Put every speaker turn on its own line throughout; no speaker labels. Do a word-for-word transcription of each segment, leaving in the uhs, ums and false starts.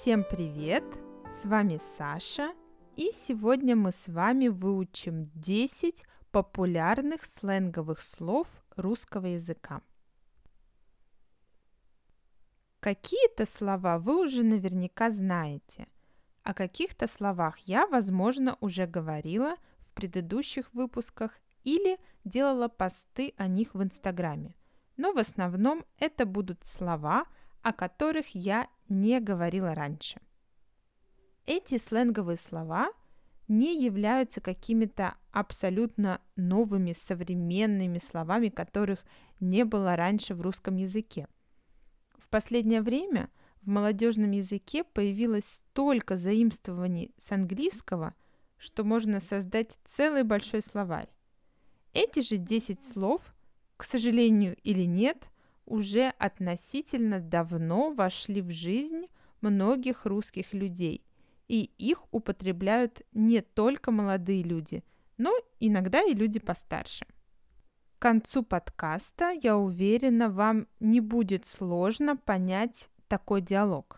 Всем привет! С вами Саша, и сегодня мы с вами выучим десять популярных сленговых слов русского языка. Какие-то слова вы уже наверняка знаете. О каких-то словах я, возможно, уже говорила в предыдущих выпусках или делала посты о них в Инстаграме. Но в основном это будут слова, о которых я не говорила раньше. Эти сленговые слова не являются какими-то абсолютно новыми, современными словами, которых не было раньше в русском языке. В последнее время в молодежном языке появилось столько заимствований с английского, что можно создать целый большой словарь. Эти же десять слов, к сожалению или нет, уже относительно давно вошли в жизнь многих русских людей, и их употребляют не только молодые люди, но иногда и люди постарше. К концу подкаста, я уверена, вам не будет сложно понять такой диалог.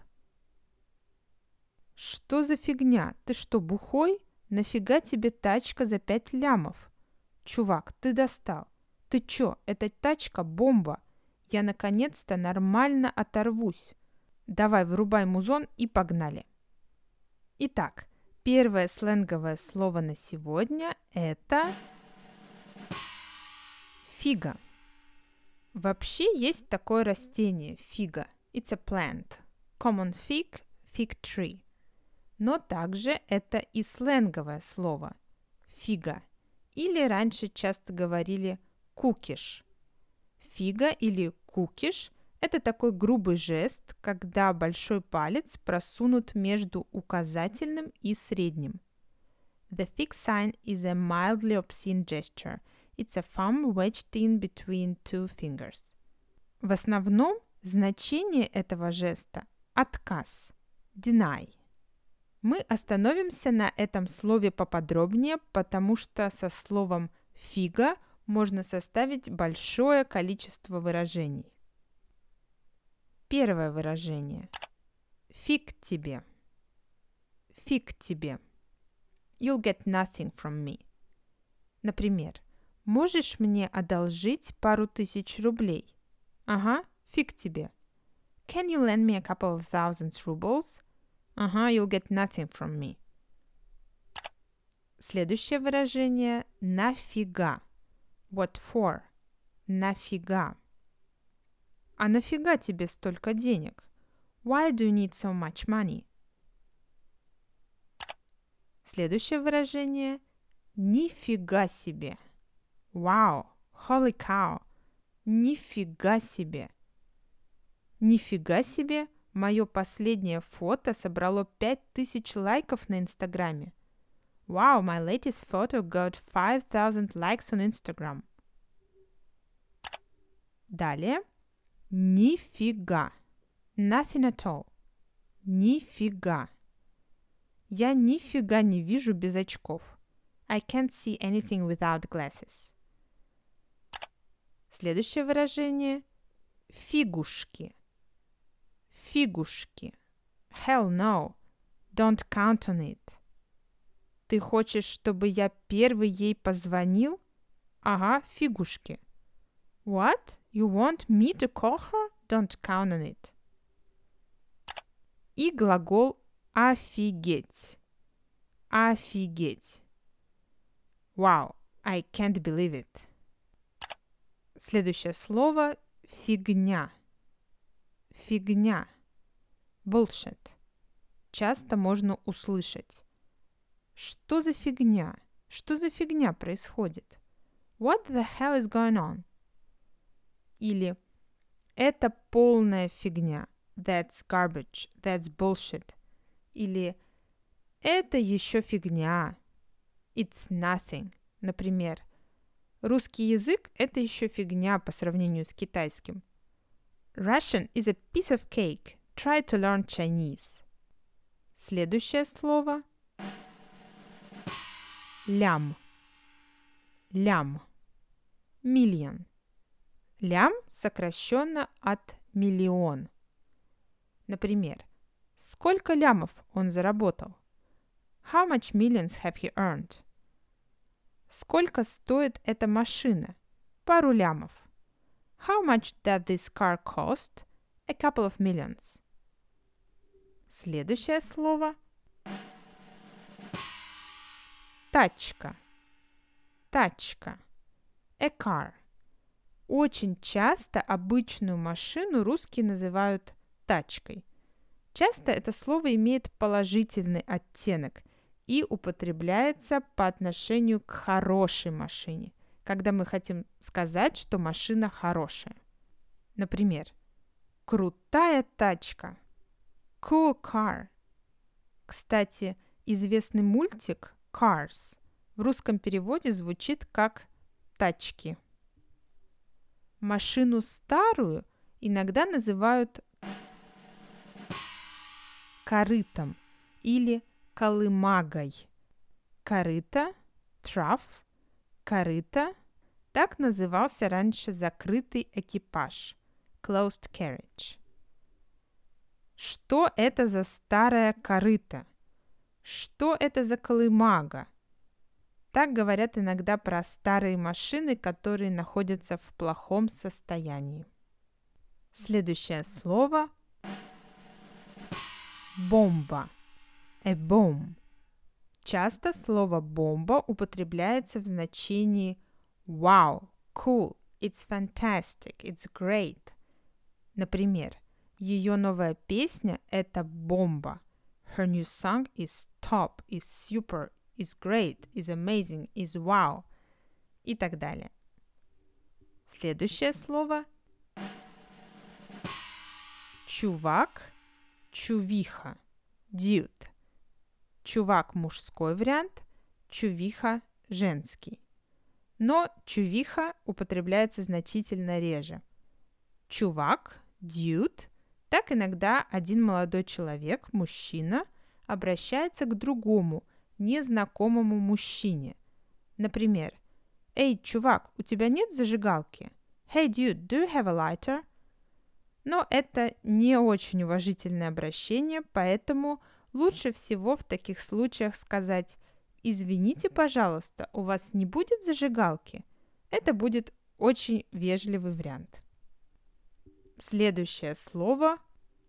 Что за фигня? Ты что, бухой? Нафига тебе тачка за пять лямов? Чувак, ты достал. Ты чё, эта тачка бомба. Я наконец-то нормально оторвусь. Давай, врубай музон и погнали. Итак, первое сленговое слово на сегодня – это фига. Вообще есть такое растение – фига. It's a plant. Common fig, fig tree. Но также это и сленговое слово – фига. Или раньше часто говорили кукиш. Фига или кукиш – это такой грубый жест, когда большой палец просунут между указательным и средним. The fig sign is a mildly obscene gesture. It's a thumb wedged in between two fingers. В основном значение этого жеста – отказ, deny. Мы остановимся на этом слове поподробнее, потому что со словом «фига» можно составить большое количество выражений. Первое выражение. Фиг тебе. Фиг тебе. You'll get nothing from me. Например, можешь мне одолжить пару тысяч рублей? Ага, фиг тебе. Can you lend me a couple of thousand rubles? Ага, you'll get nothing from me. Следующее выражение – нафига. What for? Нафига. А нафига тебе столько денег? Why do you need so much money? Следующее выражение – нифига себе. Wow, holy cow. Нифига себе. Нифига себе, мое последнее фото собрало пять тысяч лайков на Инстаграме. Wow, my latest photo got five thousand likes on Instagram. Далее. Нифига. Nothing at all. Нифига. Я нифига не вижу без очков. I can't see anything without glasses. Следующее выражение. Фигушки. Фигушки. Hell no. Don't count on it. Ты хочешь, чтобы я первый ей позвонил? Ага, фигушки. What? You want me to call her? Don't count on it. И глагол офигеть. Офигеть. Wow, I can't believe it. Следующее слово фигня. Фигня. Bullshit. Часто можно услышать. Что за фигня? Что за фигня происходит? What the hell is going on? Или это полная фигня. That's garbage. That's bullshit. Или это еще фигня. It's nothing. Например, русский язык – это еще фигня по сравнению с китайским. Russian is a piece of cake. Try to learn Chinese. Следующее слово – лям. Лям. Million. Лям сокращенно от миллион. Например, Сколько лямов он заработал? How much millions have he earned? Сколько стоит эта машина? Пару лямов. How much does this car cost? A couple of millions. Следующее слово – тачка. Тачка. A car. Очень часто обычную машину русские называют тачкой. Часто это слово имеет положительный оттенок и употребляется по отношению к хорошей машине, когда мы хотим сказать, что машина хорошая. Например, крутая тачка. Cool car. Кстати, известный мультик Cars в русском переводе звучит как «тачки». Машину старую иногда называют корытом или колымагой. Корыто, trough, корыто – так назывался раньше закрытый экипаж, closed carriage. Что это за старая корыто? Что это за колымага? Так говорят иногда про старые машины, которые находятся в плохом состоянии. Следующее слово – бомба. A bomb. Часто слово «бомба» употребляется в значении «wow», «cool», «it's fantastic», «it's great». Например, ее новая песня – это бомба. Her new song is top, is super, is great, is amazing, is wow и так далее. Следующее слово – чувак, чувиха, dude. Чувак – мужской вариант, чувиха – женский. Но чувиха употребляется значительно реже. Чувак, dude, так иногда один молодой человек, мужчина, обращается к другому, незнакомому мужчине. Например, «Эй, чувак, у тебя нет зажигалки?» «Hey, dude, do you have a lighter?» Но это не очень уважительное обращение, поэтому лучше всего в таких случаях сказать «Извините, пожалуйста, у вас не будет зажигалки?» Это будет очень вежливый вариант. Следующее слово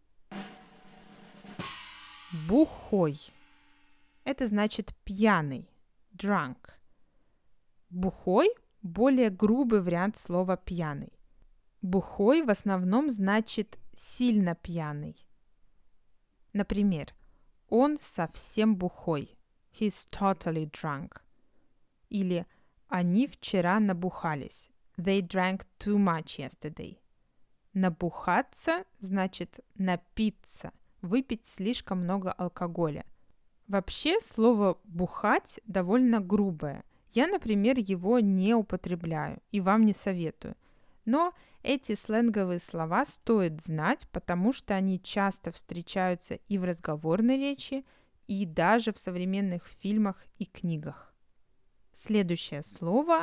– бухой. Это значит пьяный, drunk. Бухой – более грубый вариант слова пьяный. Бухой в основном значит сильно пьяный. Например, он совсем бухой. He's totally drunk. Или они вчера набухались. They drank too much yesterday. Набухаться значит напиться, выпить слишком много алкоголя. Вообще слово «бухать» довольно грубое. Я, например, его не употребляю и вам не советую. Но эти сленговые слова стоит знать, потому что они часто встречаются и в разговорной речи, и даже в современных фильмах и книгах. Следующее слово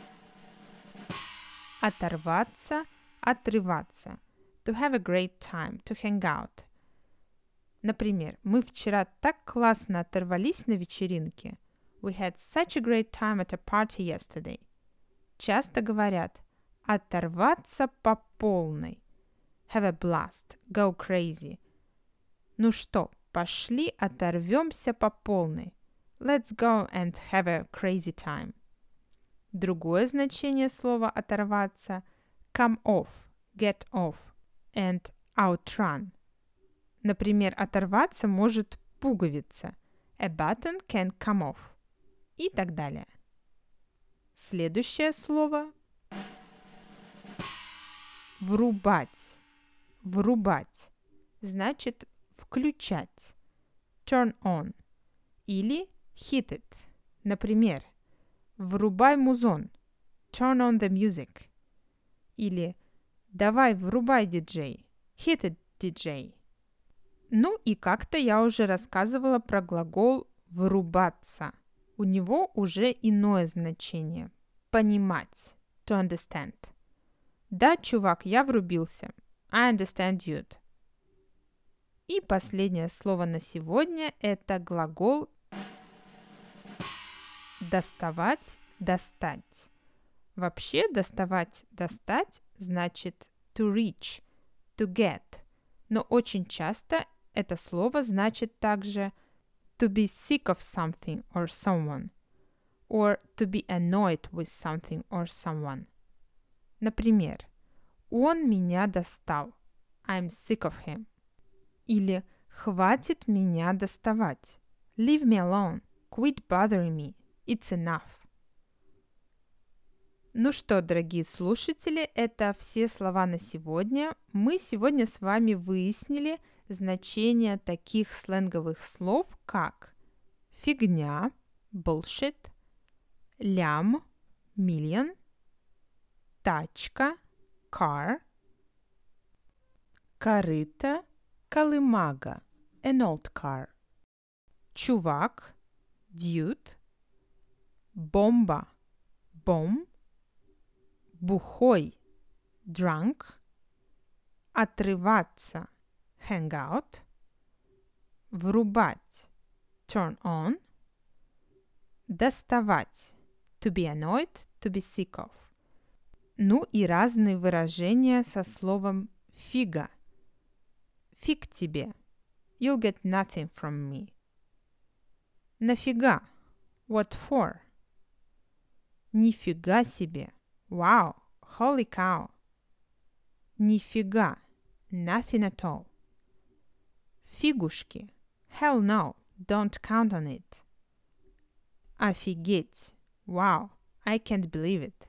– оторваться, отрываться. To have a great time, to hang out. Например, мы вчера так классно оторвались на вечеринке. We had such a great time at a party yesterday. Часто говорят оторваться по полной. Have a blast, go crazy. Ну что, пошли оторвемся по полной. Let's go and have a crazy time. Другое значение слова оторваться – come off, get off and outrun. Например, оторваться может пуговица. A button can come off. И так далее. Следующее слово – врубать. Врубать значит включать. Turn on. Или hit it. Например, врубай музон. Turn on the music. Или давай врубай диджей. Hit it, диджей. Ну и как-то я уже рассказывала про глагол «врубаться». У него уже иное значение. Понимать. To understand. Да, чувак, я врубился. I understand, dude. И последнее слово на сегодня – это глагол доставать, достать. Вообще доставать, достать значит to reach, to get. Но очень часто это слово значит также to be sick of something or someone, or to be annoyed with something or someone. Например, он меня достал. I'm sick of him. Или хватит меня доставать. Leave me alone. Quit bothering me. It's enough. Ну что, дорогие слушатели, это все слова на сегодня. Мы сегодня с вами выяснили значение таких сленговых слов, как фигня, bullshit, лям, million, тачка, car, корыто, колымага, an old car, чувак, dude, бомба, bomb, бухой, drunk, отрываться, hang out, врубать, turn on, доставать, to be annoyed, to be sick of. Ну и разные выражения со словом фига. Фиг тебе. You'll get nothing from me. Нафига. What for? Нифига себе. Wow. Holy cow. Нифига. Nothing at all. Фигушки. Hell no. Don't count on it. Офигеть. Wow. I can't believe it.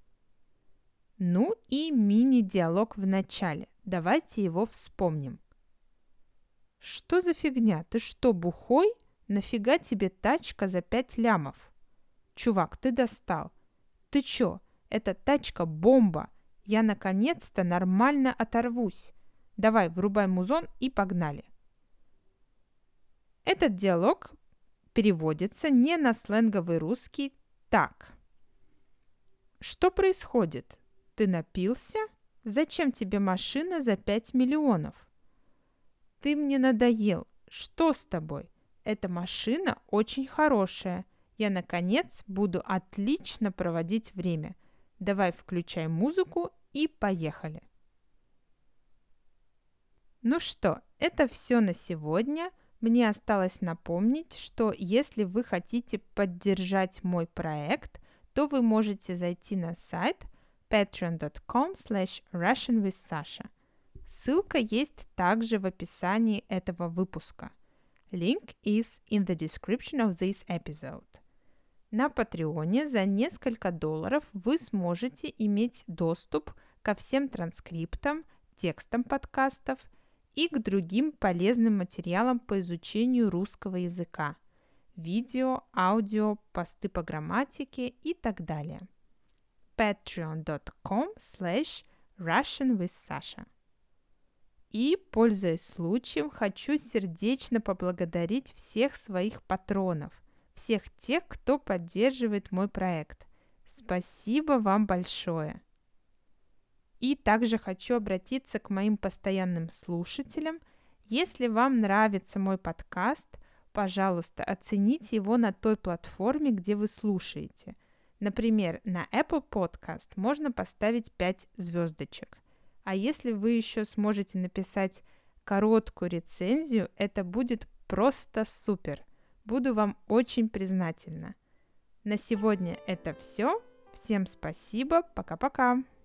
Ну и мини-диалог в начале. Давайте его вспомним. Что за фигня? Ты что, бухой? Нафига тебе тачка за пять лямов? Чувак, ты достал. Ты чё? Эта тачка бомба. Я наконец-то нормально оторвусь. Давай, врубай музон и погнали. Этот диалог переводится не на сленговый русский так. Что происходит? Ты напился? Зачем тебе машина за пять миллионов? Ты мне надоел. Что с тобой? Эта машина очень хорошая. Я, наконец, буду отлично проводить время. Давай включай музыку и поехали. Ну что, это все на сегодня. Мне осталось напомнить, что если вы хотите поддержать мой проект, то вы можете зайти на сайт patreon dot com slash russian with sasha. Ссылка есть также в описании этого выпуска. Link is in the description of this episode. На Патреоне за несколько долларов вы сможете иметь доступ ко всем транскриптам, текстам подкастов и к другим полезным материалам по изучению русского языка, видео, аудио, посты по грамматике и так далее. patreon dot com slash russian with sasha. И, пользуясь случаем, хочу сердечно поблагодарить всех своих патронов, всех тех, кто поддерживает мой проект. Спасибо вам большое! И также хочу обратиться к моим постоянным слушателям. Если вам нравится мой подкаст, пожалуйста, оцените его на той платформе, где вы слушаете. Например, на Apple Podcast можно поставить пять звездочек. А если вы еще сможете написать короткую рецензию, это будет просто супер. Буду вам очень признательна. На сегодня это все. Всем спасибо. Пока-пока.